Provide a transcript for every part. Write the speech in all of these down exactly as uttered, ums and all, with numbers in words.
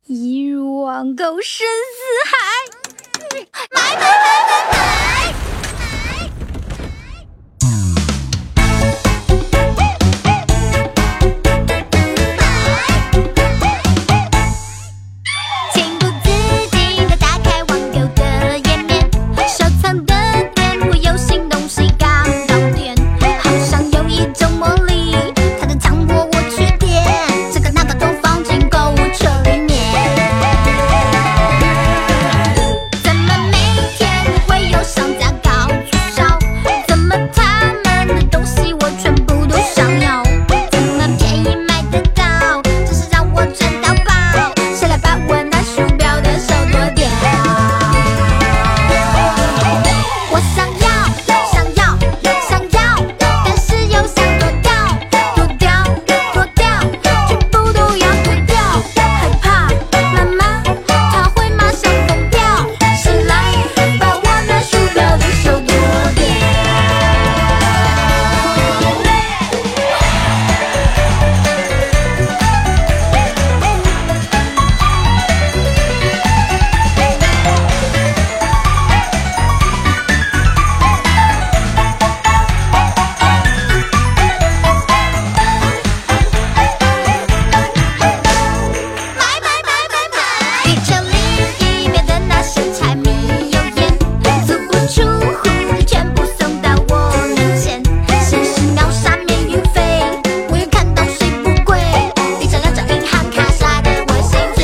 一如网购深似海，买买买买买！情不自禁地打开网购的页面，收藏的店铺有新东西刚到店，好像有一种魔力，它在强迫我去点，这个那个都放进购物车里面。怎么每天会有商家搞促销？怎么他们的东西我全部都想要？怎么便宜买得到？真是让我赚到爆！谁来把我那鼠标的手剁掉？我想要，想要，想要，但是又想剁掉，剁掉，剁掉，全部都要剁掉。害怕妈妈她会马上疯掉，谁来把我那鼠标的手剁掉？买买买买买！地球另一边的那些柴米油盐，足不出户全部送到我面前。先是秒杀免运费，我又看到水不贵，一张两张银行卡刷得我心醉。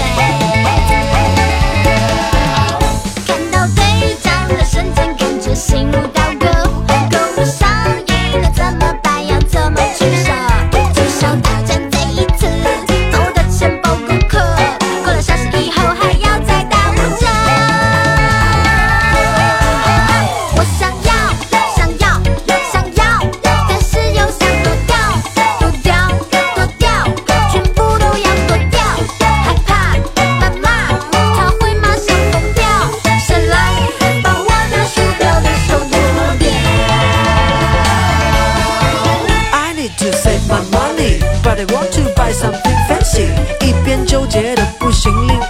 看到队长的瞬间，跟着心如刀割，购物上瘾了怎么办？要怎么取舍？促销大战这一次，把我的钱包顾客，过了小时以后还要再打五折。我想要，想要，想要，但是又想剁掉，剁掉，剁掉，全部都要剁掉。害怕妈妈她会马上疯掉，谁来把我那鼠标的手剁掉 ？I need to save my money, but I want to buy something fancy。一边纠结的不行，另